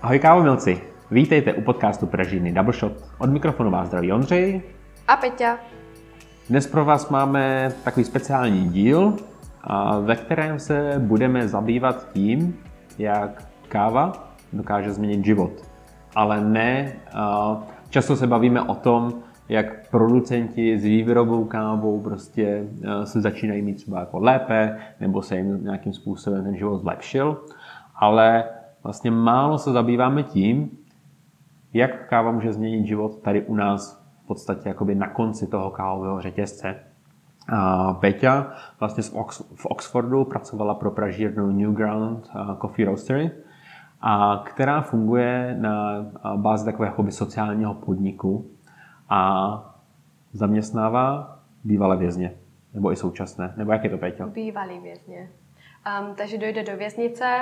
Ahoj kávomilci, vítejte u podcastu Pražírny Double Shot. Od mikrofonu vás zdraví Ondřej a Peťa. Dnes pro vás máme takový speciální díl, ve kterém se budeme zabývat tím, jak káva dokáže změnit život. Ale ne, často se bavíme o tom, jak producenti s výrobou kávou prostě se začínají mít třeba jako lépe, nebo se jim nějakým způsobem ten život zlepšil, ale vlastně málo se zabýváme tím, jak káva může změnit život tady u nás v podstatě jakoby na konci toho kávového řetězce. Peťa vlastně v Oxfordu pracovala pro pražírnu Newground Coffee Roastery, která funguje na bázi takového jakoby sociálního podniku a zaměstnává bývalé vězně, nebo i současné. Nebo jak je to, Peťo? Bývalý vězně. Takže dojde do věznice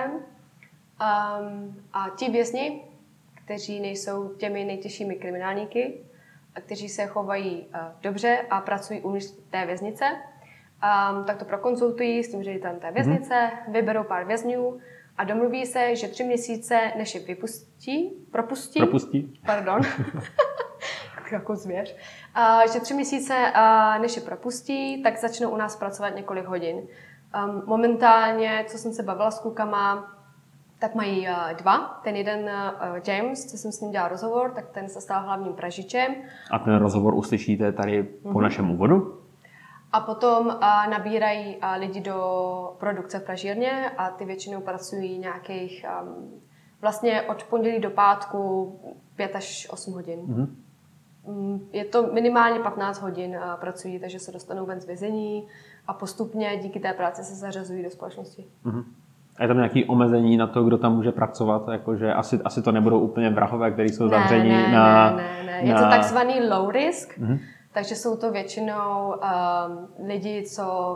a ti vězni, kteří nejsou těmi nejtěžšími kriminálníky, a kteří se chovají dobře a pracují uvnitř té věznice, tak to prokonzultují s tím ředitelem té věznice, vyberou pár vězňů a domluví se, že 3 měsíce, než je propustí, pardon, jako zvěř, že 3 měsíce, než je propustí, tak začnou u nás pracovat několik hodin. Momentálně, co jsem se bavila s klukama, tak mají 2. Ten jeden James, co jsem s ním dělal rozhovor, tak ten se stal hlavním pražičem. A ten rozhovor uslyšíte tady po našem úvodu. A potom nabírají lidi do produkce v pražírně a ty většinou pracují nějakých vlastně od pondělí do pátku 5 až 8 hodin. Je to minimálně 15 hodin pracují, takže se dostanou ven z vězení a postupně díky té práci se zařazují do společnosti. A je tam nějaké omezení na to, kdo tam může pracovat? Jakože asi to nebudou úplně vrahové, kteří jsou zavření Ne. Je to takzvaný low risk, takže jsou to většinou lidi, co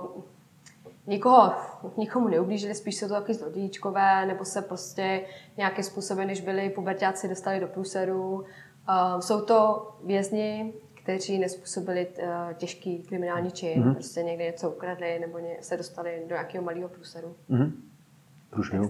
nikomu neublížili, spíš jsou to taky zlodějíčkové, nebo se prostě nějakým způsobem, než byli puberťáci, dostali do průseru. Jsou to vězni, kteří nezpůsobili těžký kriminální čin, prostě někde něco ukradli nebo se dostali do nějakého malého průseru. Průšvihu.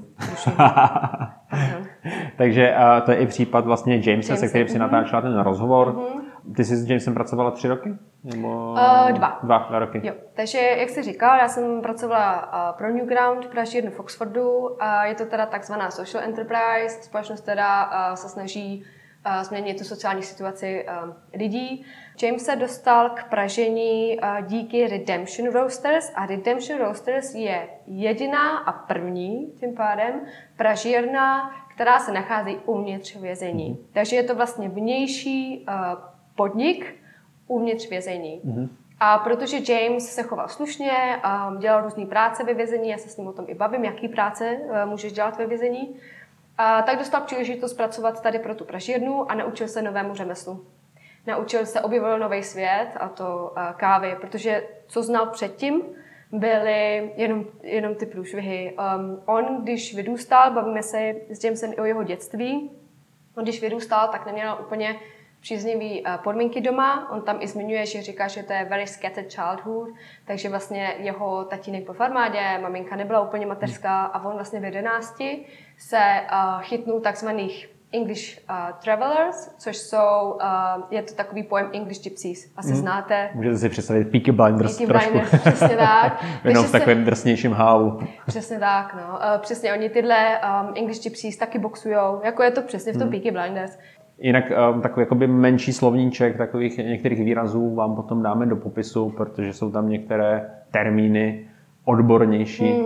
Takže to je i případ vlastně Jamesa, se kterým si natáčela ten rozhovor. Ty jsi s Jamesem pracovala 3 roky? Nebo 2 roky. Jo. Takže, jak jsi říkal, já jsem pracovala pro Newground v pražírnu v Oxfordu. Je to teda takzvaná social enterprise, společnost, která se snaží změnit tu sociální situaci lidí. James se dostal k pražení díky Redemption Roasters a Redemption Roasters je jediná a první, tím pádem, pražírna, která se nachází uvnitř vězení. Takže je to vlastně vnější podnik uvnitř vězení. A protože James se choval slušně, dělal různý práce ve vězení, já se s ním o tom i bavím, jaký práce můžeš dělat ve vězení, tak dostal příležitost pracovat tady pro tu pražírnu a naučil se novému řemeslu. Naučil se, objevil nový svět, a to kávy, protože co znal předtím, byly jenom ty průšvihy. On, když vyrůstal, bavíme se s Jamesem i o jeho dětství, on když vyrůstal, tak neměl úplně příznivý podmínky doma. On tam i zmiňuje, že říká, že to je very scattered childhood, takže vlastně jeho tatínek byl v armádě, maminka nebyla úplně mateřská a on vlastně v 11 se chytnul takzvaných English travelers, což jsou, je to takový pojem English gypsies. Asi znáte. Můžete si představit Peaky Blinders trošku. Přesně tak. Jenom v takovém drsnějším hávu. Přesně tak, no. Přesně, oni tyhle English gypsies taky boxujou, jako je to přesně v tom Peaky Blinders. Jinak takový jakoby menší slovníček takových některých výrazů vám potom dáme do popisu, protože jsou tam některé termíny odbornější.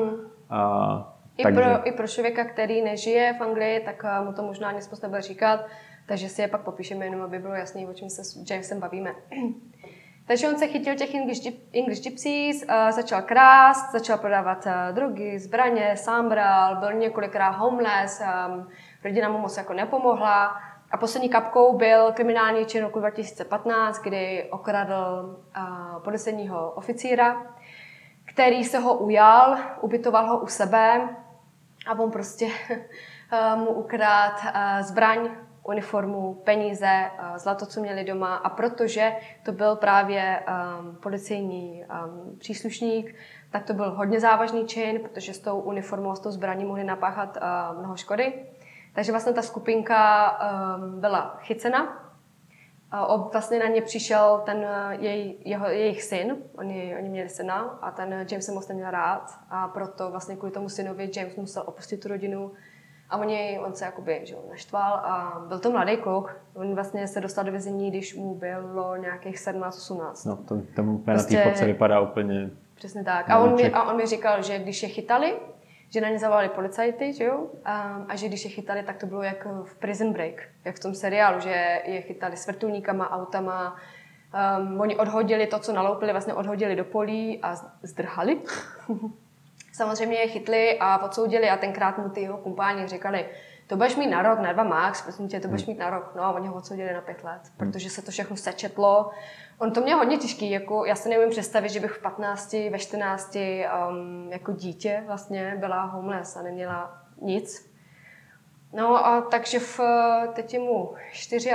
I pro člověka, který nežije v Anglii, tak mu to možná nic moc nebude říkat, takže si je pak popíšeme jenom, aby bylo jasný, o čem se s Jamesem bavíme. Takže on se chytil těch English gypsies, začal krást, začal prodávat drogy, zbraně, sám bral, byl několikrát homeless, rodina mu moc jako nepomohla. A poslední kapkou byl kriminální čin roku 2015, kdy okradl policejního oficíra, který se ho ujal, ubytoval ho u sebe a on prostě mu ukradl zbraň, uniformu, peníze, zlato, co měli doma. A protože to byl právě policejní příslušník, tak to byl hodně závažný čin, protože s tou uniformou, s tou zbraní mohli napáchat mnoho škody. Takže vlastně ta skupinka byla chycena. Vlastně na ně přišel ten jejich syn, oni měli syna a ten James se moc neměl rád a proto vlastně kvůli tomu synovi James musel opustit tu rodinu a on se jakoby naštval a byl to mladý kluk. On vlastně se dostal do vězení, když mu bylo nějakých 17-18. No, tomu prostě, na té fotce vypadá úplně... Přesně tak. A on mi říkal, že když je chytali, že na ně zavolali policajty, že jo? A že když je chytali, tak to bylo jak v Prison Break, jak v tom seriálu, že je chytali s vrtulníkama, autama. Oni odhodili to, co naloupili, vlastně odhodili do polí a zdrhali. Samozřejmě je chytli a odsoudili a tenkrát mu ty jeho kumpáni říkali, to budeš mít na rok, na 2 max, prosím tě, to budeš mít na rok. No a oni ho odsoudili na 5 let, protože se to všechno sečetlo. On to měl hodně těžký, jako já si neumím představit, že bych v 15, ve 14 jako dítě vlastně byla homeless a neměla nic. No a takže teď je mu 24,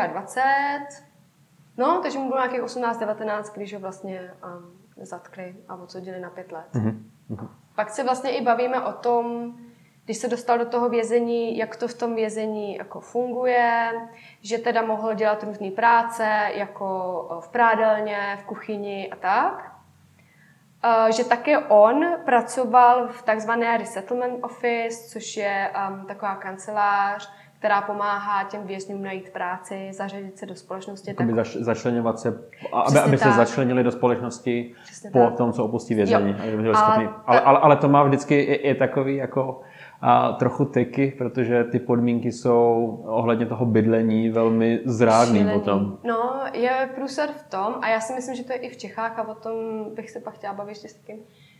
no takže mu bylo nějakých 18-19, když ho vlastně zatkli a odsoudili na 5 let. Pak se vlastně i bavíme o tom, když se dostal do toho vězení, jak to v tom vězení jako funguje, že teda mohl dělat různé práce, jako v prádelně, v kuchyni a tak. Že také on pracoval v takzvané resettlement office, což je taková kancelář, která pomáhá těm vězňům najít práci, zařadit se do společnosti. Začleňovat se, aby se začlenili do společnosti po tom, co opustí vězení. Ale to má vždycky je takový jako trochu teky, protože ty podmínky jsou ohledně toho bydlení velmi zrádný potom. No, je průser v tom, a já si myslím, že to je i v Čechách, a o tom bych se pak chtěla bavit ještě s takým.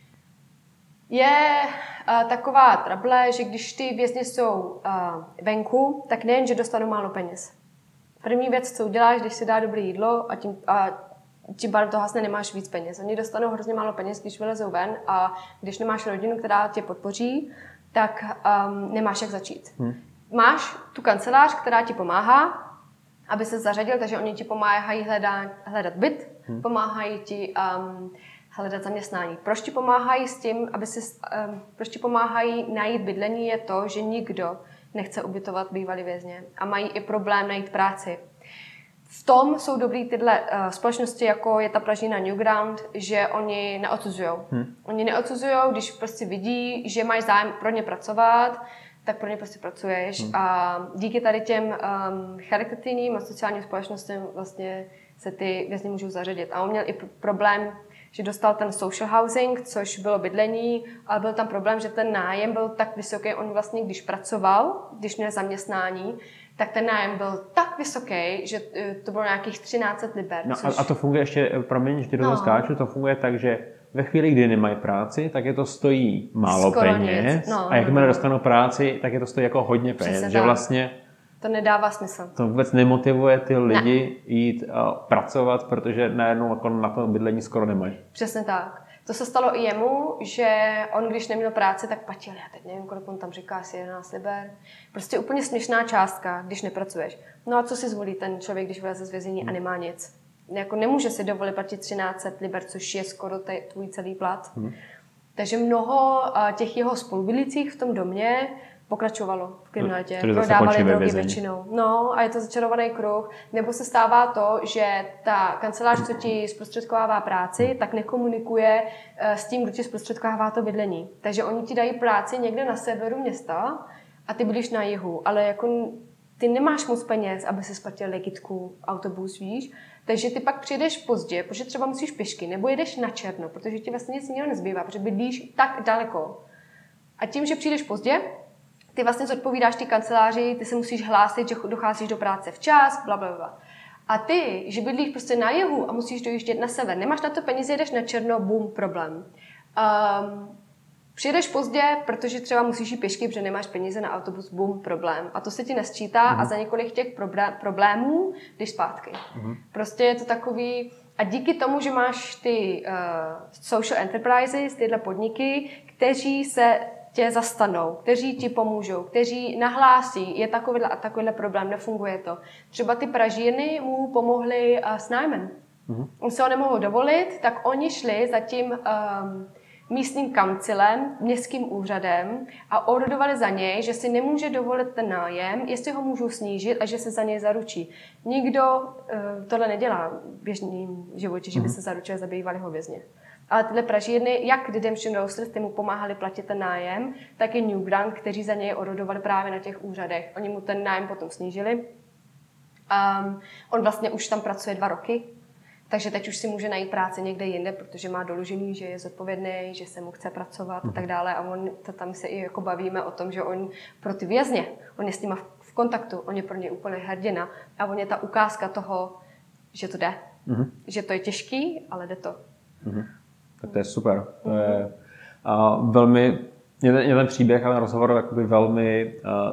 Je taková trable, že když ty vězni jsou venku, tak nejen, že dostanou málo peněz. První věc, co uděláš, když si dá dobré jídlo a tím pádem to hasne, nemáš víc peněz. Oni dostanou hrozně málo peněz, když vylezou ven a když nemáš rodinu, která tě podpoří, tak nemáš jak začít. Máš tu kancelář, která ti pomáhá, aby se zařadil, takže oni ti pomáhají hledat byt, pomáhají ti hledat zaměstnání. Proč ti pomáhají s tím, proč ti pomáhají najít bydlení, je to, že nikdo nechce ubytovat bývalý vězně a mají i problém najít práci. V tom jsou dobrý tyhle společnosti, jako je ta Pražina Newground, že oni neodsuzujou. Oni neodsuzujou, když prostě vidí, že máš zájem pro ně pracovat, tak pro ně prostě pracuješ. A díky tady těm charitativním a sociálním společnostem vlastně se ty vězni můžou zařadit. A on měl i problém, že dostal ten social housing, což bylo bydlení, ale byl tam problém, že ten nájem byl tak vysoký, on vlastně, když pracoval, když měl zaměstnání, tak ten nájem byl tak vysoký, že to bylo nějakých 1300 liber. No a to funguje ještě, promiň, že ti do toho skáču, to funguje tak, že ve chvíli, kdy nemají práci, tak je to stojí málo peněz a jakmile dostanou práci, tak je to stojí jako hodně peněz. Že vlastně to nedává smysl. To vůbec nemotivuje ty lidi jít pracovat, protože najednou jako na to bydlení skoro nemají. Přesně tak. To se stalo i jemu, že on, když neměl práci, tak platil, já teď nevím, kolik on tam říká, asi 11 liber. Prostě úplně směšná částka, když nepracuješ. No a co si zvolí ten člověk, když vyleze z vězení a nemá nic? Jako nemůže si dovolit platit 1300 liber, což je skoro tvůj celý plat. Takže mnoho těch jeho spolubydlících v tom domě pokračovalo v kriminalitě, prodávali drogy většinou. No a je to začarovaný kruh. Nebo se stává to, že ta kancelář, co ti zprostředkovává práci, tak nekomunikuje s tím, kdo ti zprostředkovává to bydlení. Takže oni ti dají práci někde na severu města a ty bydlíš na jihu, ale jako ty nemáš moc peněz, aby si splatil legitku, autobus, víš. Takže ty pak přijdeš pozdě, protože třeba musíš pěšky, nebo jedeš na černo, protože ti vlastně nic jiného nezbývá, protože bydlíš tak daleko. A tím, že přijdeš pozdě, ty vlastně zodpovídáš ty kanceláři, ty se musíš hlásit, že docházíš do práce včas, blablabla. A ty, že bydlíš prostě na jihu a musíš dojíždět na sever, nemáš na to peníze, jedeš na černo, bum, problém. Přijedeš pozdě, protože třeba musíš jít pěšky, protože nemáš peníze na autobus, bum, problém. A to se ti nesčítá a za několik těch problémů jdeš zpátky. Prostě je to takový. A díky tomu, že máš ty social enterprises, tyhle podniky, kteří se tě zastanou, kteří ti pomůžou, kteří nahlásí, je takovýhle a takovýhle problém, nefunguje to. Třeba ty Pražíny mu pomohly s nájmem. On se ho nemohl dovolit, tak oni šli za tím místním kancilem, městským úřadem a ordovali za něj, že si nemůže dovolit ten nájem, jestli ho můžou snížit a že se za něj zaručí. Nikdo tohle nedělá v běžném životě, že by se zaručili za bývalého vězně. Ale tyhle pražírny, jak Redemption Roasters, ty mu pomáhali platit ten nájem, tak i Newground, kteří za něj ordovali právě na těch úřadech. Oni mu ten nájem potom snížili. On vlastně už tam pracuje 2 roky, takže teď už si může najít práci někde jinde, protože má doložený, že je zodpovědný, že se mu chce pracovat a tak dále. A on, tam se i jako bavíme o tom, že on pro ty vězně, on je s nima v kontaktu, on je pro ně úplně hrdina a on je ta ukázka toho, že to jde. Že to je těžký, ale jde to. Tak to je super. To je velmi, mě ten příběh a ten rozhovor jakoby velmi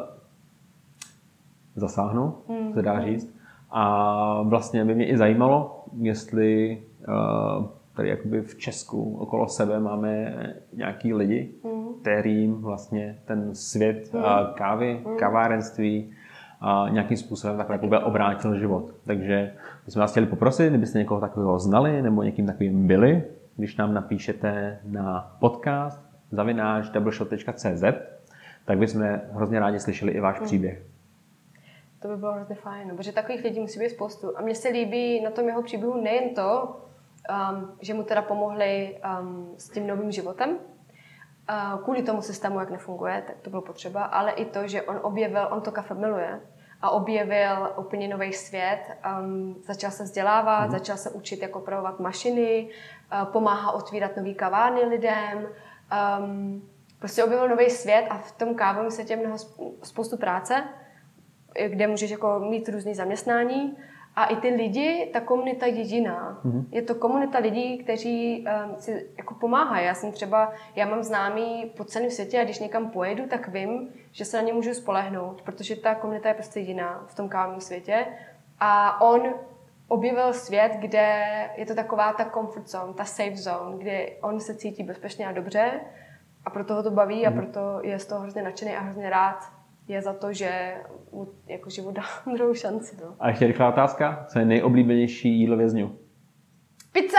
zasáhnul, se dá říct. A vlastně by mě i zajímalo, jestli tady jakoby v Česku okolo sebe máme nějaký lidi, kterým vlastně ten svět kávy, kavárenství nějakým způsobem takhle jakoby obrátil život. Takže bychom vás chtěli poprosit, kdybyste někoho takového znali nebo někým takovým byli, když nám napíšete na podcast@doubleshot.cz, tak bychom hrozně rádi slyšeli i váš příběh. To by bylo hrozně fajn, protože takových lidí musí být spoustu. A mně se líbí na tom jeho příběhu nejen to, že mu teda pomohli s tím novým životem, kvůli tomu systému, jak nefunguje, tak to bylo potřeba, ale i to, že on to kafe miluje a objevil úplně nový svět, začal se vzdělávat, začal se učit, jak opravovat mašiny, pomáhá otvírat nový kavárny lidem, prostě objevil nový svět a v tom kávovém světě je spoustu práce, kde můžeš jako mít různý zaměstnání a i ty lidi, ta komunita je jiná. Je to komunita lidí, kteří si jako pomáhají. Já mám známý po celém světě a když někam pojedu, tak vím, že se na ně můžu spolehnout, protože ta komunita je prostě jiná v tom kávovém světě. A on objevil svět, kde je to taková ta comfort zone, ta safe zone, kde on se cítí bezpečně a dobře a proto ho to baví a proto je z toho hrozně nadšený a hrozně rád je za to, že mu jako život dá druhou šanci. No. A ještě rychlá otázka. Co je nejoblíbenější jídlo vězňů? Pizza!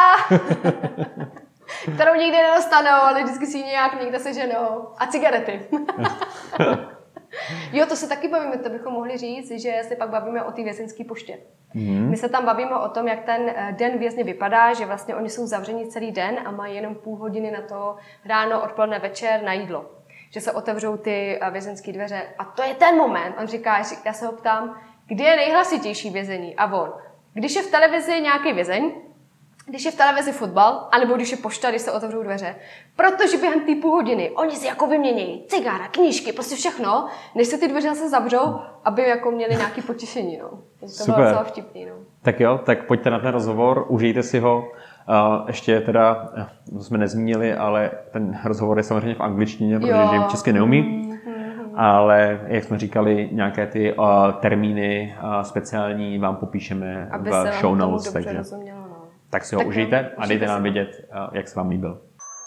Kterou nikdy nedostanou, ale vždycky si ji nějak někde seženou. A cigarety. Jo, to se taky bavíme, to bychom mohli říct, že se pak bavíme o té vězeňské poště. My se tam bavíme o tom, jak ten den vězně vypadá, že vlastně oni jsou zavřeni celý den a mají jenom půl hodiny na to ráno, odpoledne, večer na jídlo. Že se otevřou ty vězeňské dveře. A to je ten moment. On říká, já se ho ptám, kdy je nejhlasitější vězení? A on, když je v televizi nějaký vězeň, když je v televizi fotbal, anebo když je pošta, když se otevřou dveře. Protože během té půl hodiny oni si jako vymění cigára, knížky, prostě všechno, než se ty dveře zase zavřou, aby jako měli nějaké potěšení. No. To bylo docela vtipný. No. Tak jo, tak pojďte na ten rozhovor, užijte si ho. Ještě teda, to jsme nezmínili, ale ten rozhovor je samozřejmě v angličtině, protože James česky neumí. Ale jak jsme říkali, nějaké ty termíny speciální vám popíšeme v show notes. Takže tak si ho užijte a dejte nám vědět, jak se vám líbil.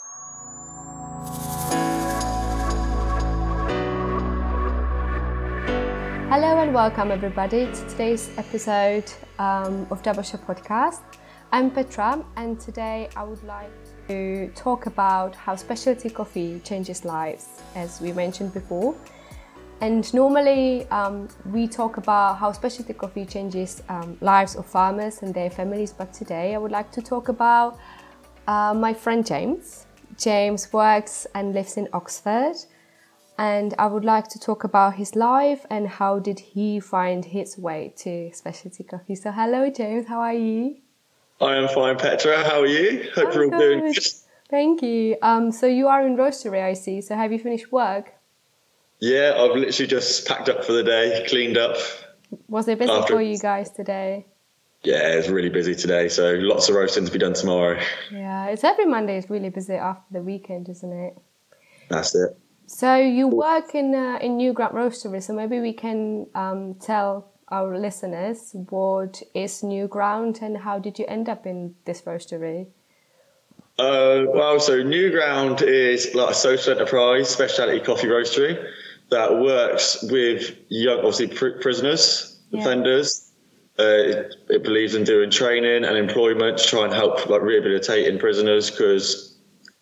Hello and welcome everybody to today's episode of Double Shot Podcast. I'm Petra and today I would like to talk about how specialty coffee changes lives, as we mentioned before. And normally we talk about how specialty coffee changes lives of farmers and their families, but today I would like to talk about my friend James. James works and lives in Oxford, and I would like to talk about his life and how did he find his way to specialty coffee. So hello James, how are you? I am fine, Petra. How are you? Hope you're all doing good. Thank you. So you are in roastery, I see. So have you finished work? Yeah, I've literally just packed up for the day, cleaned up. Was it busy for you guys today? Yeah, it's really busy today, so lots of roasting to be done tomorrow. Yeah, it's every Monday is really busy after the weekend, isn't it? That's it. So you work in Newground Roastery, so maybe we can tell our listeners what is Newground and how did you end up in this roastery? Well, so Newground is like a social enterprise specialty coffee roastery that works with young, obviously prisoners, offenders. It believes in doing training and employment to try and help like rehabilitating prisoners because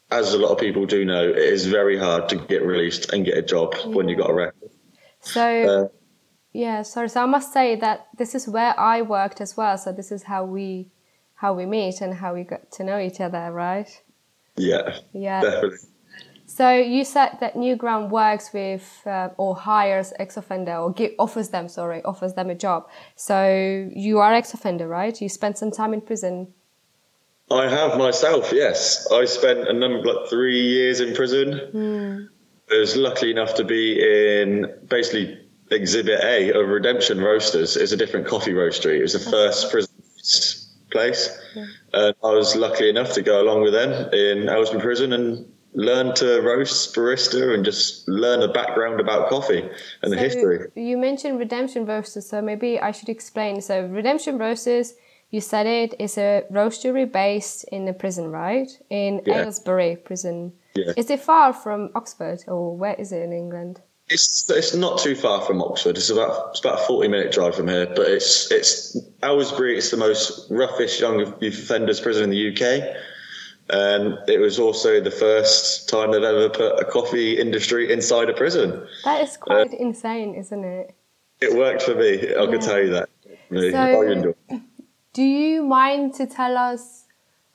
as a lot of people do know, it is very hard to get released and get a job when you got arrested. So, So I must say that this is where I worked as well. So this is how we meet and how we got to know each other, right? Yeah, definitely. So you said that Newground works with or hires ex-offender or offers them a job. So you are ex-offender, right? You spent some time in prison. I have myself, yes. I spent 3 years in prison. I was lucky enough to be in basically Exhibit A of Redemption Roasters. It's a different coffee roastery. It was the first prison place. Yeah. And I was lucky enough to go along with them in Aylesbury Prison and learn to roast barista and just learn a background about coffee and the history. You mentioned Redemption Roasters, so maybe I should explain. So Redemption Roasters, you said it, is a roastery based in a prison, right? In Aylesbury Prison. Yeah. Is it far from Oxford, or where is it in England? It's not too far from Oxford. It's about a 40-minute drive from here. But it's Aylesbury. It's the most roughest young offenders prison in the UK, and it was also the first time they've ever put a coffee industry inside a prison. That is quite insane, isn't it? It worked for me. I can tell you that. So, do you mind to tell us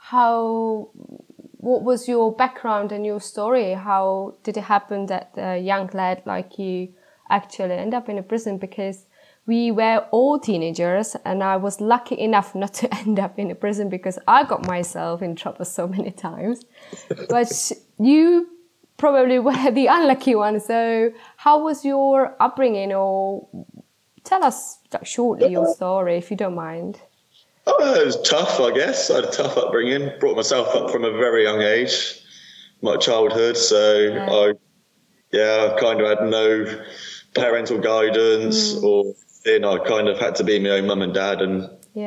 what was your background and your story? How did it happen that a young lad like you actually end up in a prison? Because we were all teenagers and I was lucky enough not to end up in a prison because I got myself in trouble so many times. But you probably were the unlucky one. So how was your upbringing? Or tell us shortly your story if you don't mind. Oh, it was tough, I guess. I had a tough upbringing. Brought myself up from a very young age, my childhood. So I kind of had no parental guidance or I kind of had to be my own mum and dad. And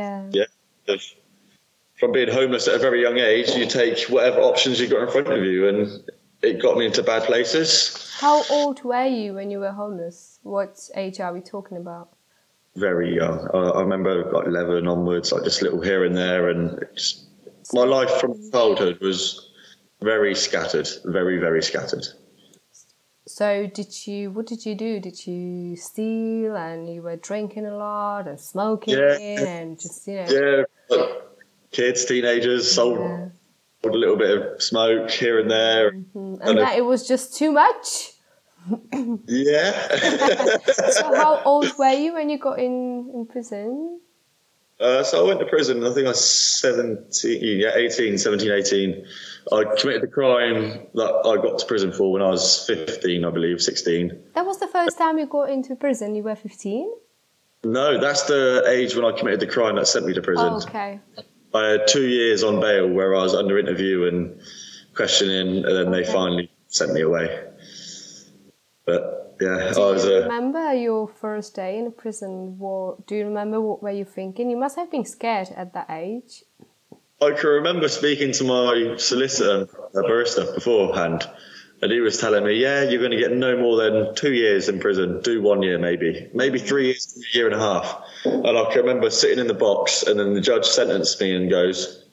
from being homeless at a very young age, you take whatever options you got in front of you, and it got me into bad places. How old were you when you were homeless? What age are we talking about? Very young. I remember 11 onwards, just little here and there, and my life from childhood was very scattered, very, very scattered. So what did you do? Did you steal and you were drinking a lot and smoking and just, kids, teenagers, sold a little bit of smoke here and there. Mm-hmm. And that it was just too much? Yeah. So how old were you when you got in prison? So I went to prison, I think I was 17, 18. I committed the crime that I got to prison for when I was 15, I believe, 16. That was the first time you got into prison? You were 15? No, that's the age when I committed the crime that sent me to prison. Oh, okay. I had 2 years on bail where I was under interview and questioning, and then they finally sent me away. But yeah, do you remember your first day in prison? Do you remember what were you thinking? You must have been scared at that age. I can remember speaking to my solicitor, a barista, beforehand, and he was telling me, you're going to get no more than 2 years in prison, do 1 year maybe 3 years, a year and a half. And I can remember sitting in the box, and then the judge sentenced me and goes,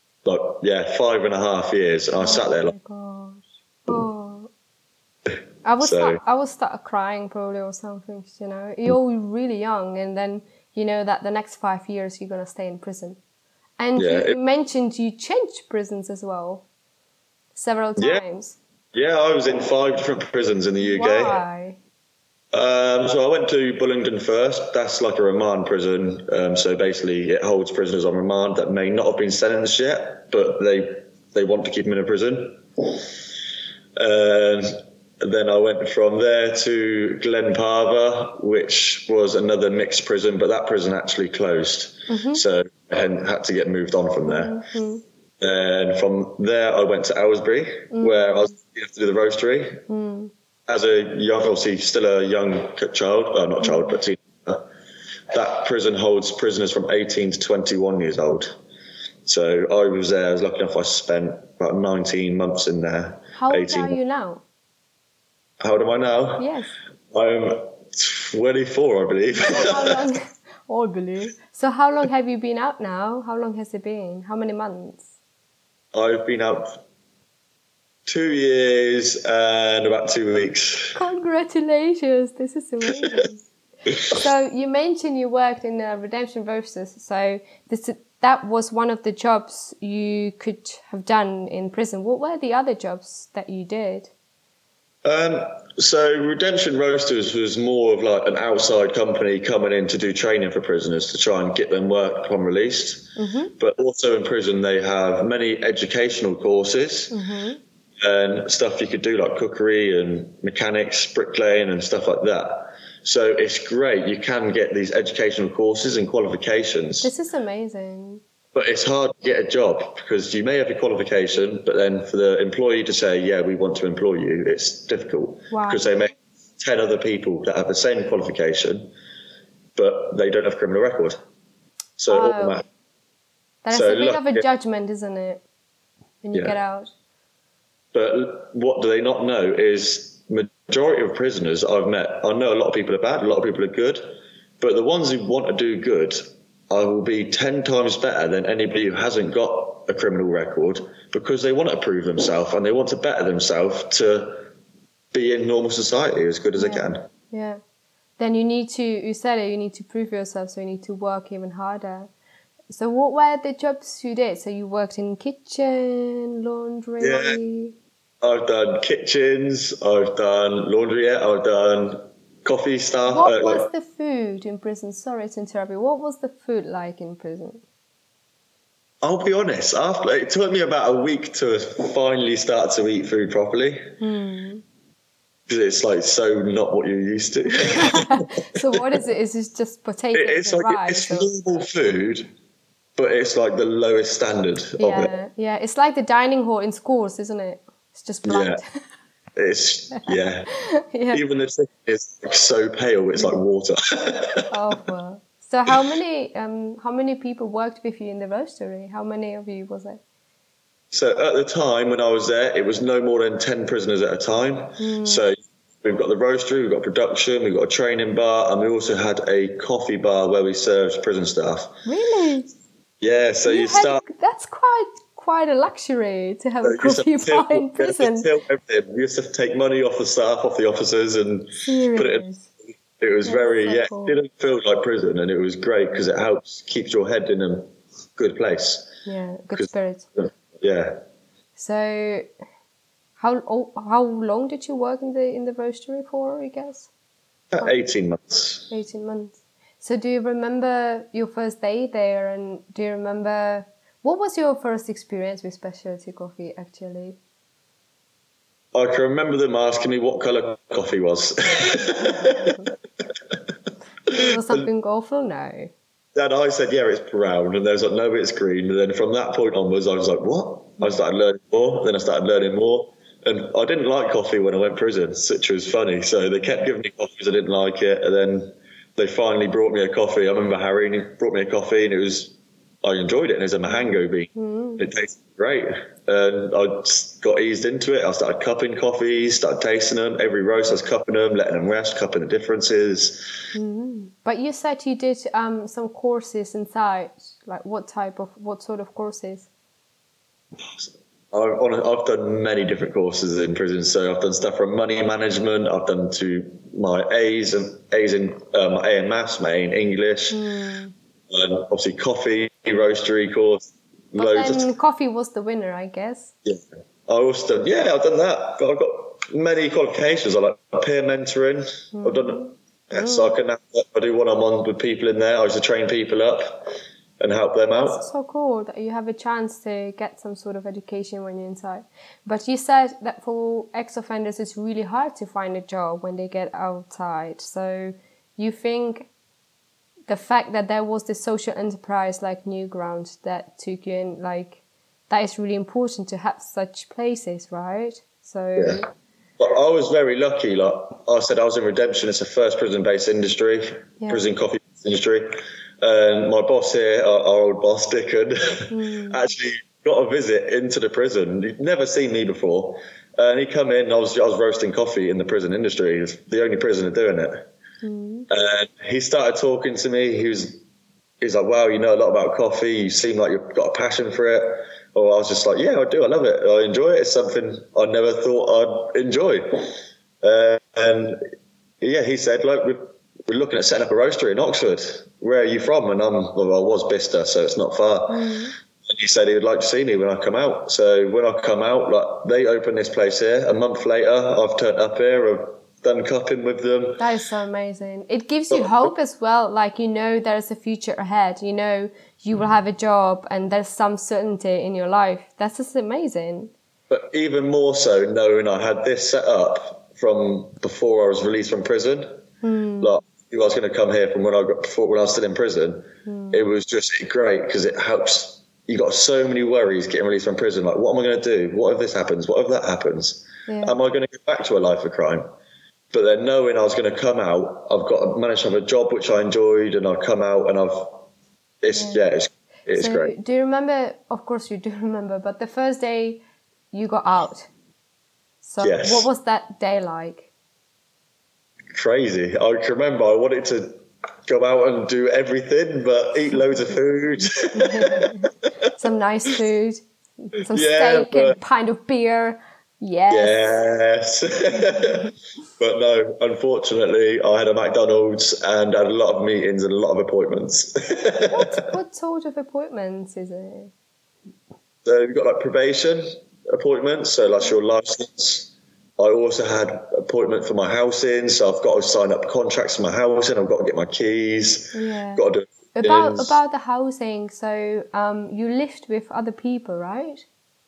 5.5 years. And I sat there like, I would start crying probably or something, You're really young, and then you know that the next 5 years you're going to stay in prison. And you mentioned you changed prisons as well several times. Yeah, I was in 5 different prisons in the UK. Why? So I went to Bullingdon first. That's like a remand prison. So basically it holds prisoners on remand that may not have been sentenced yet, but they want to keep them in a prison. And then I went from there to Glenparva, which was another mixed prison, but that prison actually closed. Mm-hmm. So I had to get moved on from there. Mm-hmm. And from there, I went to Aylesbury, where I was to do the roastery. Mm. As a young, obviously still a young child, not child, but teenager. That prison holds prisoners from 18 to 21 years old. So I was there. I was lucky enough. I spent about 19 months in there. How old are you now? How old am I now? Yes. I'm 24, I believe. I believe. So how long have you been out now? How long has it been? How many months? I've been out 2 years and about 2 weeks. Congratulations, this is amazing. So you mentioned you worked in Redemption Roasters, so that was one of the jobs you could have done in prison. What were the other jobs that you did? So Redemption Roasters was more of like an outside company coming in to do training for prisoners to try and get them work upon released. But also in prison they have many educational courses and stuff you could do like cookery and mechanics, bricklaying and stuff like that. So it's great. You can get these educational courses and qualifications. This is amazing. But it's hard to get a job because you may have your qualification, but then for the employee to say, yeah, we want to employ you, it's difficult. Wow. Because they may have 10 other people that have the same qualification, but they don't have a criminal record. So automatic. That is a bit of a judgment, isn't it, when you get out? But what do they not know is majority of prisoners I've met, I know a lot of people are bad, a lot of people are good, but the ones who want to do good will be 10 times better than anybody who hasn't got a criminal record because they want to prove themselves and they want to better themselves to be in normal society as good as they can. Yeah. Then you need to prove yourself, so you need to work even harder. So what were the jobs you did? So you worked in kitchen, laundry? Yeah. I've done kitchens, I've done laundry, I've done coffee stuff. What was the food in prison? Sorry to interrupt you. What was the food like in prison? I'll be honest, it took me about a week to finally start to eat food properly. Because it's like so not what you're used to. So what is it? Is it just potatoes and rice? It's normal food, but it's like the lowest standard of it. Yeah, it's like the dining hall in schools, isn't it? It's just blunt. Yeah. Even the chicken is so pale, it's like water. Oh, well. So how many people worked with you in the roastery? How many of you was it? So at the time when I was there, it was no more than 10 prisoners at a time. So we've got the roastery, we've got production, we've got a training bar, and we also had a coffee bar where we served prison staff. Really? Yeah, so that's quite a luxury to have a coffee bar in prison. We used to take money off the staff, off the officers, and put it in. It was cool. It didn't feel like prison, and it was great because it helps keep your head in a good place. Yeah, good spirit. Yeah. So, how long did you work in the roastery for, I guess? 18 months. 18 months. So do you remember your first day there, and do you remember what was your first experience with specialty coffee actually? I can remember them asking me what colour coffee was. Was something awful? No. Then I said, yeah, it's brown. And they was like, no, it's green. And then from that point onwards, I was like, what? I started learning more. Then I started learning more. And I didn't like coffee when I went to prison, which was funny. So they kept giving me coffee because I didn't like it. And then they finally brought me a coffee. I remember Harry, and he brought me a coffee, and I enjoyed it. And it was a Mahango bean. It tasted great. And I got eased into it. I started cupping coffees, started tasting them. Every roast I was cupping them, letting them rest, cupping the differences. But you said you did some courses inside. Like what sort of courses? I've done many different courses in prison. So I've done stuff from money management. I've done to my A's in my A in maths, my A in English, and obviously coffee, roastery course. But then coffee was the winner, I guess. Yeah, I've done that. But I've got many qualifications. I like peer mentoring. I've done so I do one-on-one with people in there. I used to train people up and help them out. That's so cool that you have a chance to get some sort of education when you're inside. But you said that for ex-offenders it's really hard to find a job when they get outside. So you think the fact that there was this social enterprise like Newground that took you in, like, that is really important to have such places, right? So. Yeah. But I was very lucky. Like I said, I was in Redemption. It's the first prison-based industry, prison coffee industry. And my boss here, our old boss, Dickon, actually got a visit into the prison. He'd never seen me before. And he come in, I was roasting coffee in the prison industry. He was the only prisoner doing it. And he started talking to me. He's like, wow, you know a lot about coffee. You seem like you've got a passion for it. Or I was just like, yeah, I do. I love it. I enjoy it. It's something I never thought I'd enjoy. And yeah, he said, like, we're looking at setting up a roastery in Oxford. Where are you from? And I was Bicester, so it's not far. And he said he would like to see me when I come out. So when I come out, like, they open this place here. A month later, I've turned up here. I've done cupping with them. That is so amazing. It gives you hope as well. Like, you know, there's a future ahead. You know, you will have a job and there's some certainty in your life. That's just amazing. But even more so, knowing I had this set up from before I was released from prison. Like, I was going to come here from when I was still in prison. It was just great because it helps. You got so many worries getting released from prison. Like, what am I going to do? What if this happens? What if that happens? Yeah. Am I going to go back to a life of crime? But then knowing I was going to come out, managed to have a job which I enjoyed, and I've come out and it's so great. Do you remember? Of course you do remember. But the first day you got out. So yes. What was that day like? Crazy. I can remember I wanted to go out and do everything, but eat loads of food. Some nice food, some steak and a pint of beer. Yes. But no, unfortunately, I had a McDonald's and had a lot of meetings and a lot of appointments. What sort of appointments is it? So you've got like probation appointments, so that's your license. I also had appointment for my housing, so I've got to sign up contracts for my housing. I've got to get my keys. Yeah. Got to do about the housing. So you lived with other people, right?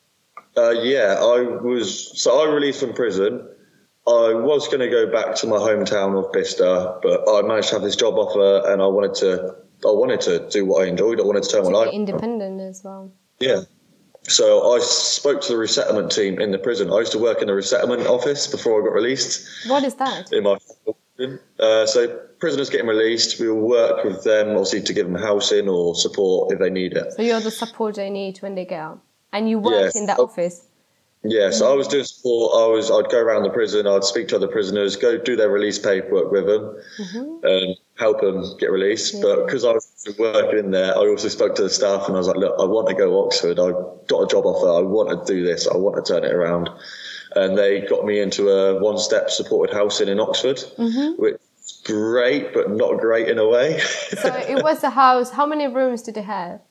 I released from prison. I was going to go back to my hometown of Bicester, but I managed to have this job offer, and I wanted to do what I enjoyed. I wanted to turn my life be independent as well. Yeah. So I spoke to the resettlement team in the prison. I used to work in the resettlement office before I got released. What is that? So prisoners getting released, we will work with them, obviously, to give them housing or support if they need it. So you're the support they need when they get out. And you worked in that office? Yeah, so I was doing support. I'd go around the prison, I'd speak to other prisoners, go do their release paperwork with them, and help them get released. Yeah. But because I was working in there, I also spoke to the staff, and I was like, look, I want to go to Oxford. I got a job offer. I want to do this. I want to turn it around. And they got me into a one-step supported housing in Oxford, which is great, but not great in a way. So it was a house. How many rooms did it have?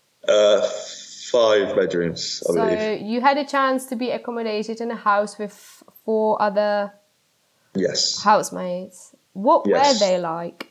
5 bedrooms, I believe. So you had a chance to be accommodated in a house with 4 other housemates. What were they like?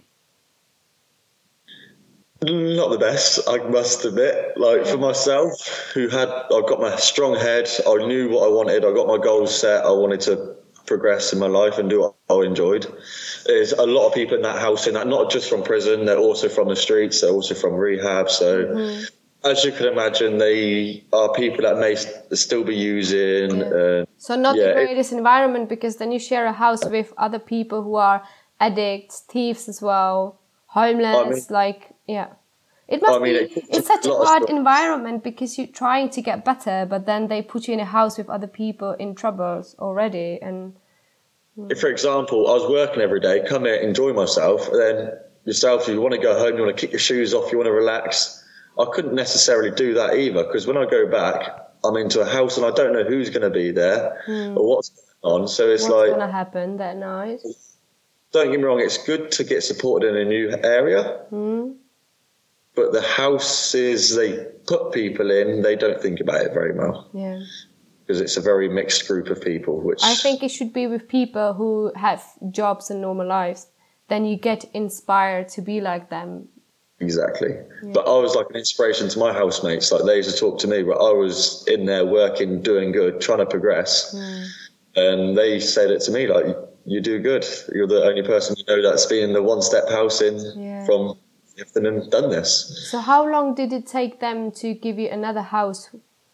Not the best, I must admit. For myself, I've got my strong head. I knew what I wanted. I got my goals set. I wanted to progress in my life and do what I enjoyed. There's a lot of people in that house, not just from prison. They're also from the streets. They're also from rehab. So. As you can imagine, they are people that may still be using. So not the greatest environment, because then you share a house with other people who are addicts, thieves as well, homeless. It must be. It's such a hard environment because you're trying to get better, but then they put you in a house with other people in troubles already. And for example, I was working every day, come here, enjoy myself, and then yourself, you want to go home, you want to kick your shoes off, you want to relax. I couldn't necessarily do that either, because when I go back, I'm into a house and I don't know who's going to be there or what's going on. So it's what's going to happen that night? Don't get me wrong, it's good to get supported in a new area. But the houses they put people in, they don't think about it very well. Yeah. Because it's a very mixed group of people. Which I think it should be with people who have jobs and normal lives. Then you get inspired to be like them. Exactly. Yeah. But I was like an inspiration to my housemates. Like, they used to talk to me, but I was in there working, doing good, trying to progress. And they said it to me, like, you do good. You're the only person you know that's been in the one-step housing from everything and done this. So how long did it take them to give you another house?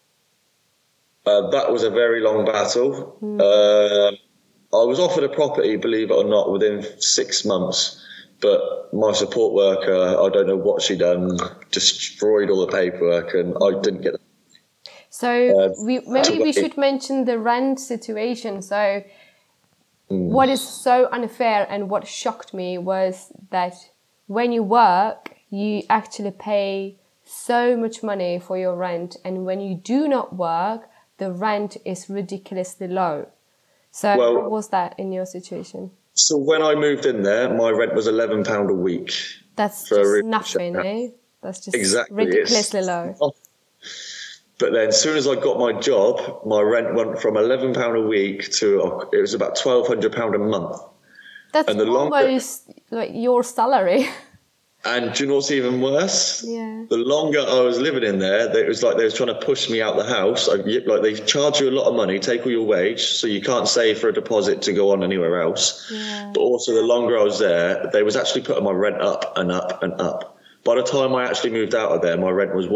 That was a very long battle. I was offered a property, believe it or not, within 6 months. But my support worker, I don't know what she done, destroyed all the paperwork, and I didn't get it. So we should mention the rent situation. So what is so unfair and what shocked me was that when you work, you actually pay so much money for your rent, and when you do not work, the rent is ridiculously low. So how was that in your situation? So when I moved in there, my rent was £11 a week. That's just nothing, eh? That's just ridiculously low. But then as soon as I got my job, my rent went from £11 a week to, it was about £1,200 a month. That's almost like your salary. And do you know what's even worse? Yeah. The longer I was living in there, it was like they were trying to push me out the house. Like they charge you a lot of money, take all your wage, so you can't save for a deposit to go on anywhere else. Yeah. But also the longer I was there, they was actually putting my rent up and up and up. By the time I actually moved out of there, my rent was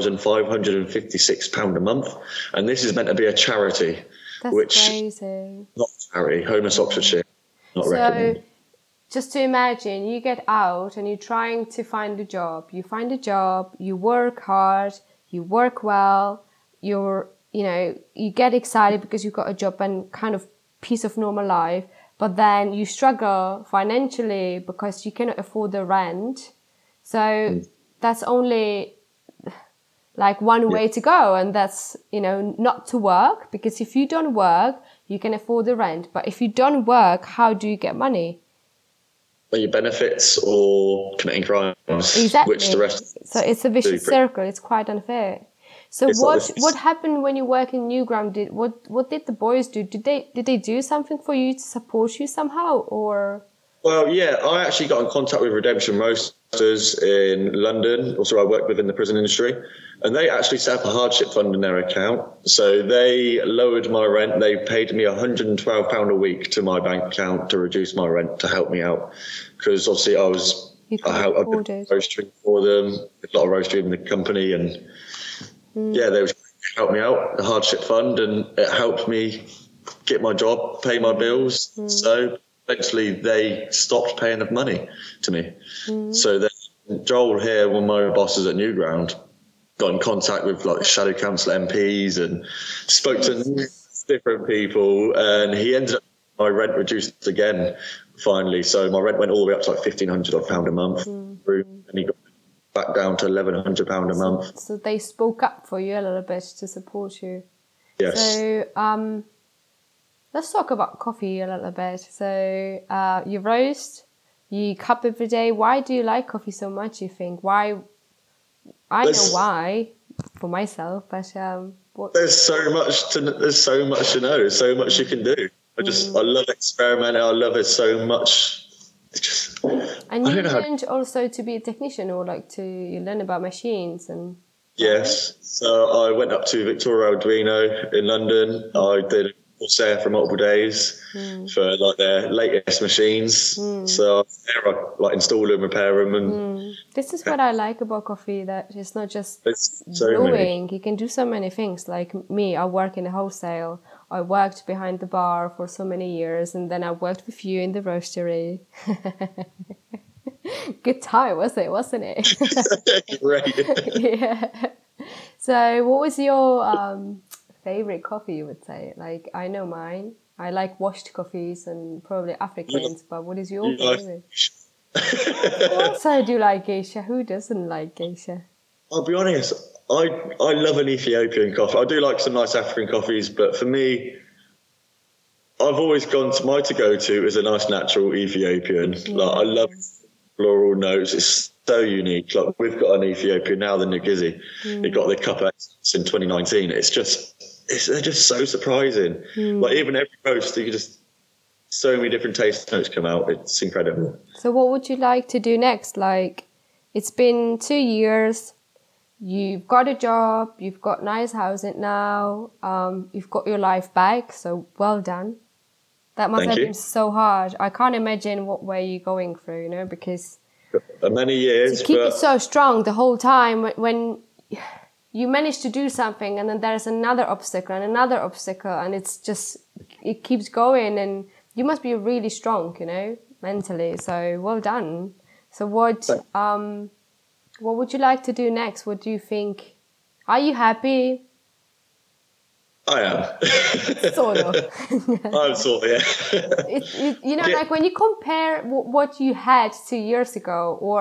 £1,556 a month. And this is meant to be a charity. That's crazy. Not a charity, Homeless Oxfordshire. Not recommended. Just to imagine, you get out and you're trying to find a job. You find a job, you work hard, you work well, you get excited because you've got a job and kind of piece of normal life. But then you struggle financially because you cannot afford the rent. So that's only like one way to go, and that's, not to work, because if you don't work, you can afford the rent. But if you don't work, how do you get money? Your benefits or committing crimes. Exactly. Which the rest. So it's a vicious circle. It's quite unfair. So what happened when you work in Newground? What did the boys do? Did they do something for you to support you somehow, or? Well, yeah, I actually got in contact with Redemption Roasters in London, also I worked with in the prison industry, and they actually set up a hardship fund in their account. So they lowered my rent. They paid me £112 a week to my bank account to reduce my rent to help me out. Because obviously I did roastery for them, a lot of roastery in the company, and they was help me out, the hardship fund, and it helped me get my job, pay my bills. So eventually they stopped paying enough money to me. So then Joel here, one of my bosses at Newground, got in contact with like shadow council MPs and spoke to different people, and he ended up my rent reduced again finally. So my rent went all the way up to like £1,500 a month, and he got back down to £1,100 a month. So they spoke up for you a little bit to support you. Yes. So let's talk about coffee a little bit. So you roast, you cup every day. Why do you like coffee so much, you think? Why? I know why for myself, but there's so much to know. There's so much you can do. I love experimenting. I love it so much. And you learned also to be a technician, or you learn about machines and. Yes. So I went up to Victoria Arduino in London. I did a course there for multiple days for their latest machines. So I install them, repair them, and this is what I like about coffee, that it's not just brewing. You can do so many things. Like me, I work in a wholesale. I worked behind the bar for so many years, and then I worked with you in the roastery. Good time, wasn't it? Right. Yeah. So what was your favorite coffee, you would say? Like, I know mine. I like washed coffees and probably Africans, but what is your favorite? Of course I do like geisha. Who doesn't like geisha? I'll be honest, I love an Ethiopian coffee. I do like some nice African coffees, but for me, I've always gone to my to-go-to is a nice natural Ethiopian. I love floral notes. It's so unique. Like, we've got an Ethiopian now, the Ngizi. They got the cup X in 2019. They're just so surprising. Like, even every roast, you just so many different taste notes come out. It's incredible. So what would you like to do next? Like, it's been 2 years. You've got a job. You've got nice housing now. You've got your life back. So well done. That must have been so hard. I can't imagine what way you're going through, because many years to keep it so strong the whole time, when you manage to do something and then there's another obstacle and it keeps going, and you must be really strong, mentally. So well done. So what would you like to do next? What do you think? Are you happy? I am. Sort of. I'm sort of, yeah. Like when you compare what you had 2 years ago or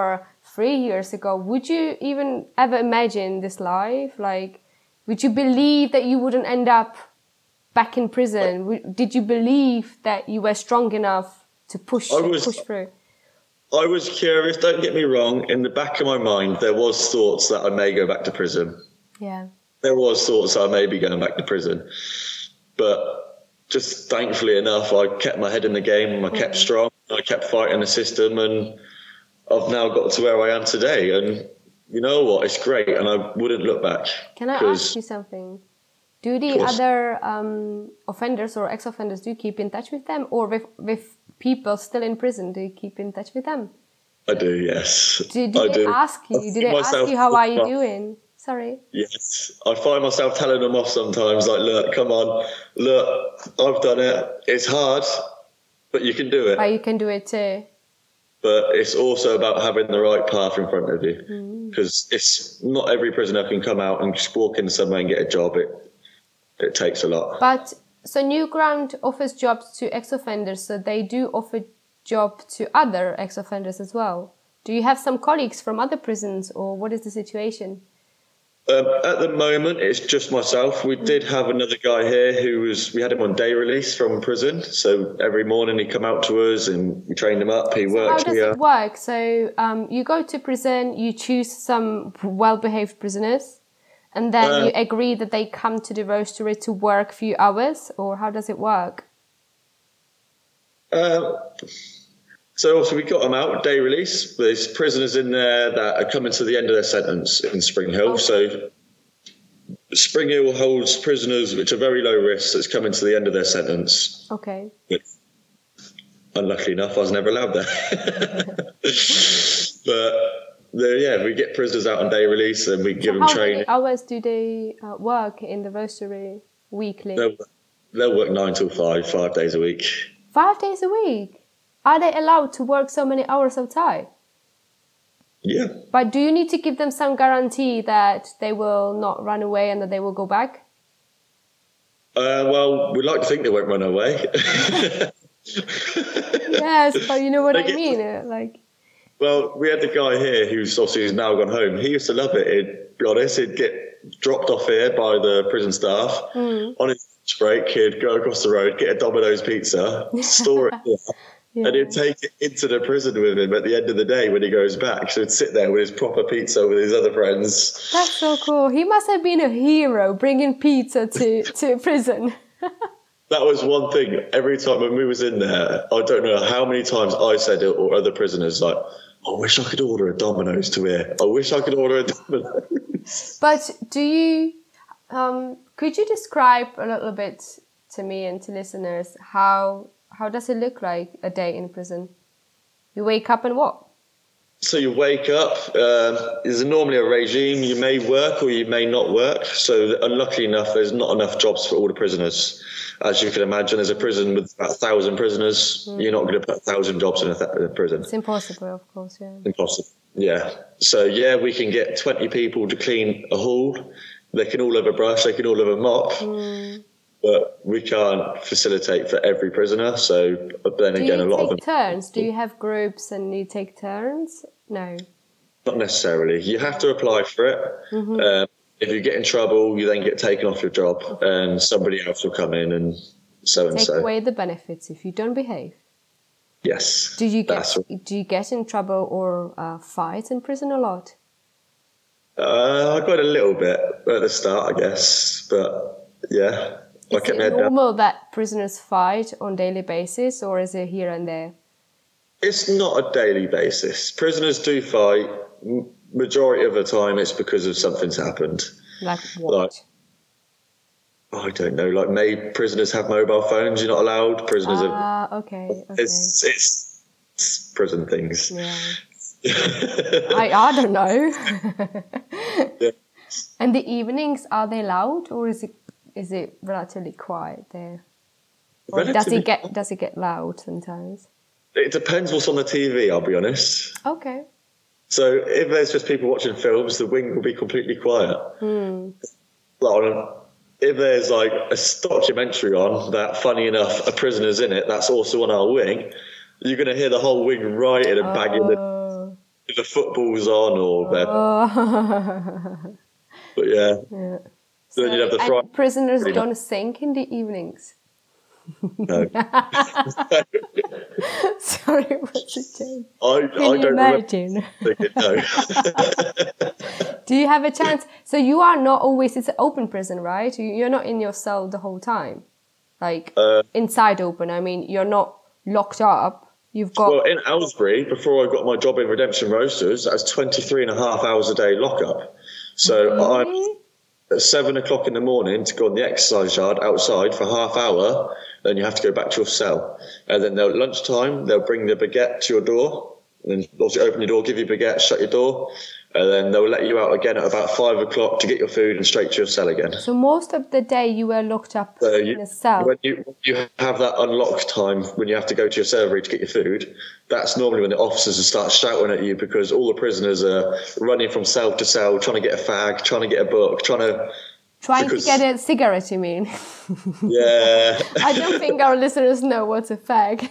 3 years ago, would you even ever imagine this life? Like, would you believe that you wouldn't end up back in prison? Did you believe that you were strong enough to push through? I was curious, don't get me wrong. In the back of my mind, there was thoughts that I may go back to prison. Yeah. There was thoughts that I may be going back to prison. But just thankfully enough, I kept my head in the game and I kept strong. I kept fighting the system, and I've now got to where I am today. And you know what? It's great, and I wouldn't look back. Can I ask you something? Do the other offenders or ex-offenders, do you keep in touch with them? Or with people still in prison, do you keep in touch with them? I do, yes. Do they ask you, how are you doing? Sorry. Yes. I find myself telling them off sometimes, like, look, come on, look, I've done it. It's hard, but you can do it. But you can do it too. But it's also about having the right path in front of you. Because it's not every prisoner can come out and just walk into somewhere and get a job. It takes a lot. But so Newground offers jobs to ex-offenders, so they do offer job to other ex-offenders as well. Do you have some colleagues from other prisons, or what is the situation? At the moment, it's just myself. We did have another guy here we had him on day release from prison. So every morning he'd come out to us and we trained him up. He worked here. How does it work? So you go to prison, you choose some well-behaved prisoners, and then you agree that they come to the roastery to work a few hours, or how does it work? So also we got them out, day release. There's prisoners in there that are coming to the end of their sentence in Spring Hill. Okay. So Spring Hill holds prisoners which are very low risk that's coming to the end of their sentence. Okay. But unluckily enough, I was never allowed there. But we get prisoners out on day release and we give them training. How many hours do they work in the roastery weekly? They'll work 9 till 5 days a week. 5 days a week? Are they allowed to work so many hours outside? Yeah. But do you need to give them some guarantee that they will not run away and that they will go back? Well, we'd like to think they won't run away. Yes, but you know what I mean? Well, we had the guy here who's now gone home. He used to love it. He'd be honest, he'd get dropped off here by the prison staff. On his lunch break, he'd go across the road, get a Domino's pizza, store it here. Yeah. And he'd take it into the prison with him at the end of the day when he goes back. So he'd sit there with his proper pizza with his other friends. That's so cool. He must have been a hero bringing pizza to prison. That was one thing. Every time when we was in there, I don't know how many times I said it or other prisoners, like, I wish I could order a Domino's to here. I wish I could order a Domino's. But do you, could you describe a little bit to me and to listeners how does it look like a day in prison? You wake up and what? So you wake up, there's normally a regime. You may work or you may not work. So unluckily enough, there's not enough jobs for all the prisoners. As you can imagine, there's a prison with about 1,000 prisoners. You're not going to put 1,000 jobs in a prison. It's impossible, of course, yeah. Impossible, yeah. So, we can get 20 people to clean a hall. They can all have a brush, they can all have a mop. But we can't facilitate for every prisoner. So then again, a lot of them. Do you take turns? Do you have groups and you take turns? No. Not necessarily. You have to apply for it. If you get in trouble, you then get taken off your job and somebody else will come in and so. Take away the benefits if you don't behave. Yes. Do you get in trouble or fight in prison a lot? I got a little bit at the start, I guess. But yeah. Is it normal that prisoners fight on a daily basis, or is it here and there? It's not a daily basis. Prisoners do fight. Majority of the time, it's because of something's happened. Like what? I don't know. Like, prisoners have mobile phones. You're not allowed. Prisoners have. Okay. It's prison things. Yeah. I don't know. Yeah. And the evenings, are they loud, or is it relatively quiet there? Or does it get loud sometimes? It depends what's on the TV, I'll be honest. Okay. So if there's just people watching films, the wing will be completely quiet. If there's a documentary on that, funny enough, a prisoner's in it, that's also on our wing, you're going to hear the whole wing rioting and banging. the football's on or they're... But yeah. So then you'd have the and prisoners don't sing in the evenings. No. Sorry, what's a joke? I don't imagine? No. Do you have a chance? So you are not always, it's an open prison, right? You're not in your cell the whole time. Like, inside open, I mean, you're not locked up. You've got... Well, in Aylesbury, before I got my job in Redemption Roasters, that was 23 and a half hours a day lockup. So Really? I'm at 7 o'clock in the morning to go on the exercise yard outside for half hour, then you have to go back to your cell. And then at lunchtime, they'll bring the baguette to your door, and then obviously open your door, give you a baguette, shut your door, and then they'll let you out again at about 5 o'clock to get your food and straight to your cell again. So most of the day you were locked up in a cell? When you have that unlocked time, when you have to go to your servery to get your food, that's normally when the officers will start shouting at you because all the prisoners are running from cell to cell, trying to get a fag, trying to get a book, trying to get a cigarette, you mean? Yeah. I don't think our listeners know what's a fag.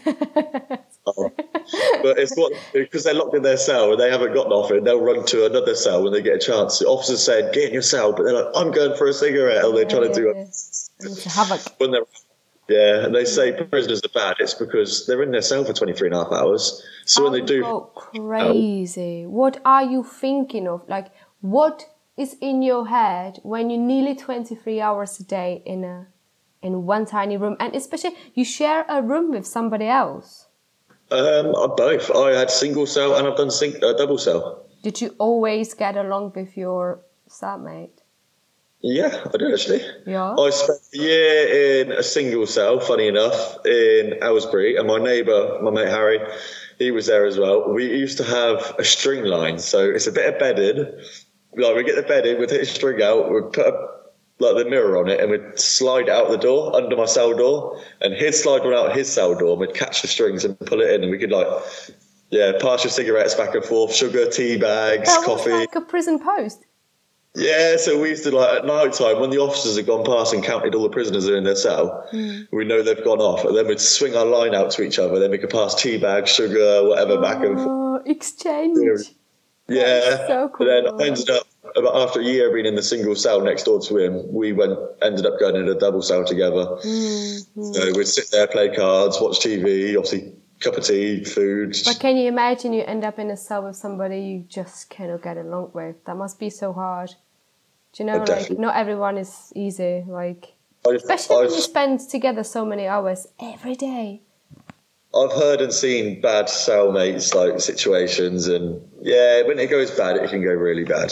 But it's because they're locked in their cell and they haven't got nothing, they'll run to another cell when they get a chance. The officers said, get in your cell, but they're like, I'm going for a cigarette, and they're trying to do it. It's havoc. And they say prisoners are bad, it's because they're in their cell for 23 and a half hours. So when they do... Oh, crazy. What are you thinking of? Like, what is in your head when you're nearly 23 hours a day in one tiny room, and especially you share a room with somebody else? Both. I had single cell and I've done double cell. Did you always get along with your cellmate? Yeah, I did actually. Yeah. I spent a year in a single cell, funny enough, in Aylesbury, and my neighbour, my mate Harry, he was there as well. We used to have a string line, so it's a bit of bedding. Like, we get the bed in, we'd hit a string out, we'd put the mirror on it, and we'd slide it out the door, under my cell door, and he'd slide one out his cell door, and we'd catch the strings and pull it in, and we could, pass your cigarettes back and forth, sugar, tea bags, coffee. That was like a prison post. Yeah, so we used to, at night time, when the officers had gone past and counted all the prisoners that are in their cell, we know they've gone off, and then we'd swing our line out to each other, then we could pass tea bags, sugar, whatever, back and forth. Exchange. Yeah, so cool. But then I ended up, after a year being in the single cell next door to him, we ended up going in a double cell together. Mm-hmm. So we'd sit there, play cards, watch TV, obviously cup of tea, food. But can you imagine you end up in a cell with somebody you just cannot get along with? That must be so hard. Do you know, not everyone is easy, especially when you spend together so many hours every day. I've heard and seen bad cellmates situations, and when it goes bad, it can go really bad.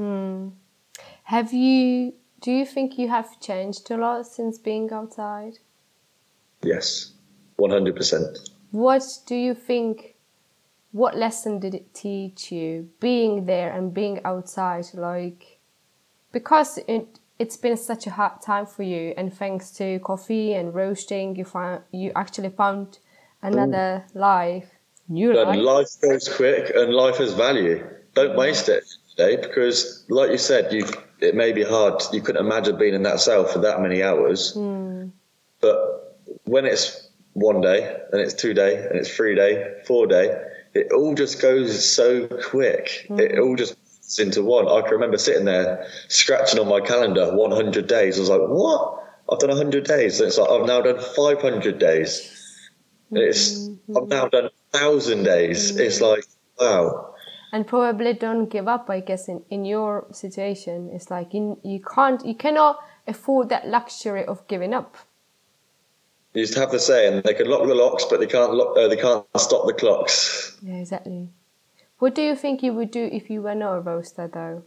Do you think you have changed a lot since being outside? Yes, 100%. What do you think, what lesson did it teach you, being there and being outside, because it's been such a hard time for you, and thanks to coffee and roasting, you actually found another life. Life goes quick and life has value. Don't waste it today, because like you said, it may be hard. You couldn't imagine being in that cell for that many hours. But when it's 1 day and it's 2 day and it's 3 day, 4 day, it all just goes so quick. It all just fits into one. I can remember sitting there scratching on my calendar 100 days. I was like, what? I've done 100 days. And it's like, I've now done 500 days. I've now done 1,000 days. It's like, wow. And probably don't give up, I guess, in your situation. It's like you cannot afford that luxury of giving up. You used to have the saying, they can lock the locks, but they can't stop the clocks. Yeah, exactly. What do you think you would do if you were not a roaster, though?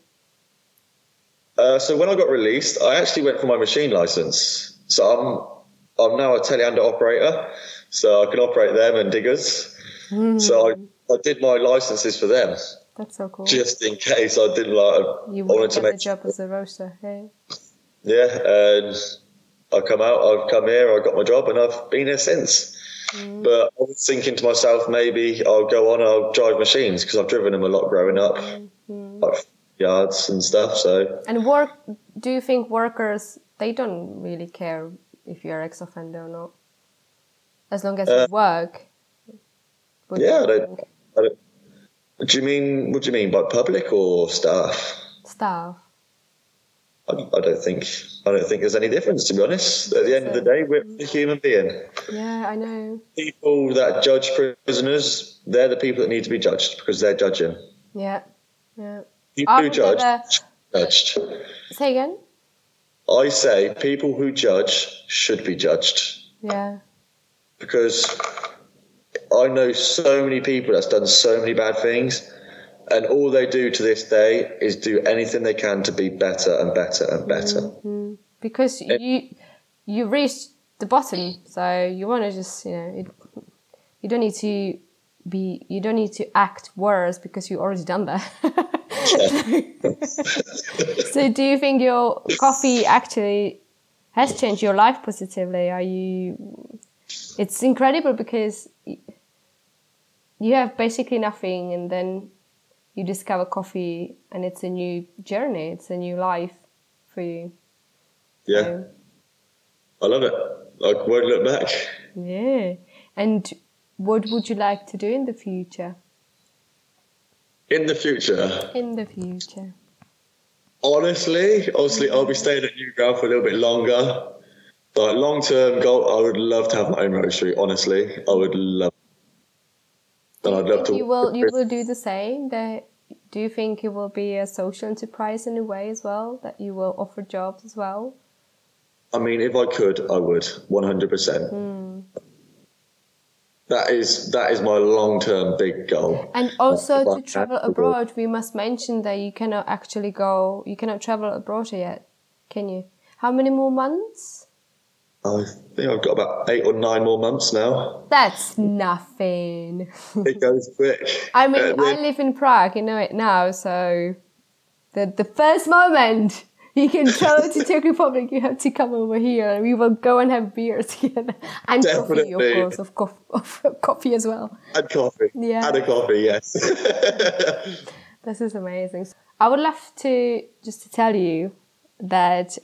So when I got released, I actually went for my machine license. So I'm now a telehandler operator. So I can operate them and diggers. So I did my licenses for them. That's so cool. Just in case I didn't you wouldn't get the job as a roaster, hey? Yeah, and I've come here, I got my job, and I've been here since. But I was thinking to myself, maybe I'll drive machines, because I've driven them a lot growing up, like yards and stuff. So. And do you think workers, they don't really care if you're ex-offender or not? As long as you work. Yeah, What do you mean by public or staff? Staff. I don't think there's any difference, to be honest. At the end of the day, we're a human being. Yeah, I know. People that judge prisoners, they're the people that need to be judged because they're judging. Yeah. People who judge, judged. Say again? I say people who judge should be judged. Yeah. Because I know so many people that's done so many bad things, and all they do to this day is do anything they can to be better and better and better. Mm-hmm. Because you reached the bottom, so you want to just, you don't need to act worse because you already done that. So do you think your coffee actually has changed your life positively? It's incredible because you have basically nothing, and then you discover coffee, and it's a new journey. It's a new life for you. Yeah. So, I love it. I won't look back. Yeah. And what would you like to do in the future? In the future? Honestly, I'll be staying at Newground for a little bit longer. But long-term goal, I would love to have my own roastery, honestly. I would love. And I'd love to. You will do the same? Do you think it will be a social enterprise in a way as well? That you will offer jobs as well? I mean, if I could, I would, 100%. That is my long-term big goal. And also to travel abroad, we must mention that you cannot travel abroad yet, can you? How many more months? I think I've got about 8 or 9 more months now. That's nothing. It goes quick. I mean, I live in Prague, you know it now, so the first moment you can travel to Czech Republic, you have to come over here and we will go and have beers together. And Definitely. coffee, of course, of coffee as well. And coffee. Yeah. And a coffee, yes. This is amazing. I would love to tell you that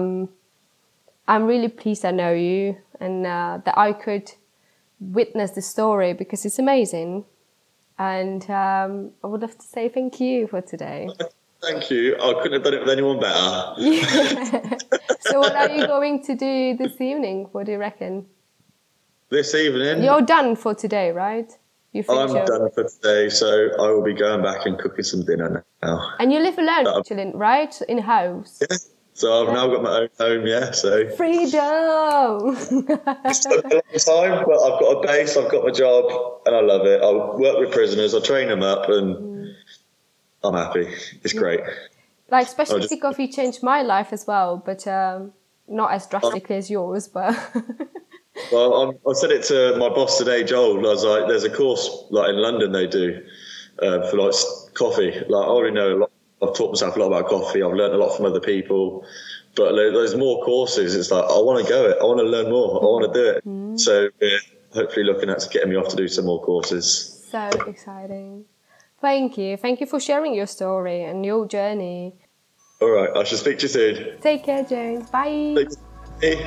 I'm really pleased I know you, and that I could witness the story because it's amazing. And I would love to say thank you for today. Thank you. I couldn't have done it with anyone better. Yeah. So what are you going to do this evening? What do you reckon? This evening? You're done for today, right? I'm done for today, so I will be going back and cooking some dinner now. And you live alone, actually, right? In a house? Yeah. So I've now got my own home, yeah. So freedom! It's took a long time, but I've got a base, I've got my job, and I love it. I work with prisoners, I train them up, and I'm happy. It's great. Like specialty coffee changed my life as well, but not as drastically as yours. But well, I said it to my boss today, Joel. I was like, "There's a course like in London they do for like coffee. Like I already know a lot. I've taught myself a lot about coffee. I've learned a lot from other people, but there's more courses. It's like I want to go it. I want to learn more. I want to do it. So we're hopefully looking at getting me off to do some more courses. So exciting. Thank you for sharing your story and your journey. All right, I shall speak to you soon. Take care, James. Bye. Bye.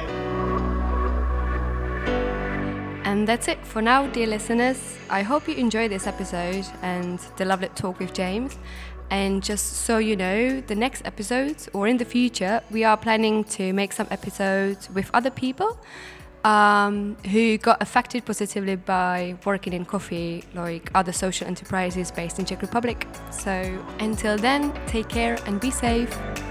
And that's it for now, dear listeners. I hope you enjoyed this episode and the lovely talk with James. And just so you know, the next episodes or in the future, we are planning to make some episodes with other people who got affected positively by working in coffee, like other social enterprises based in Czech Republic. So until then, take care and be safe.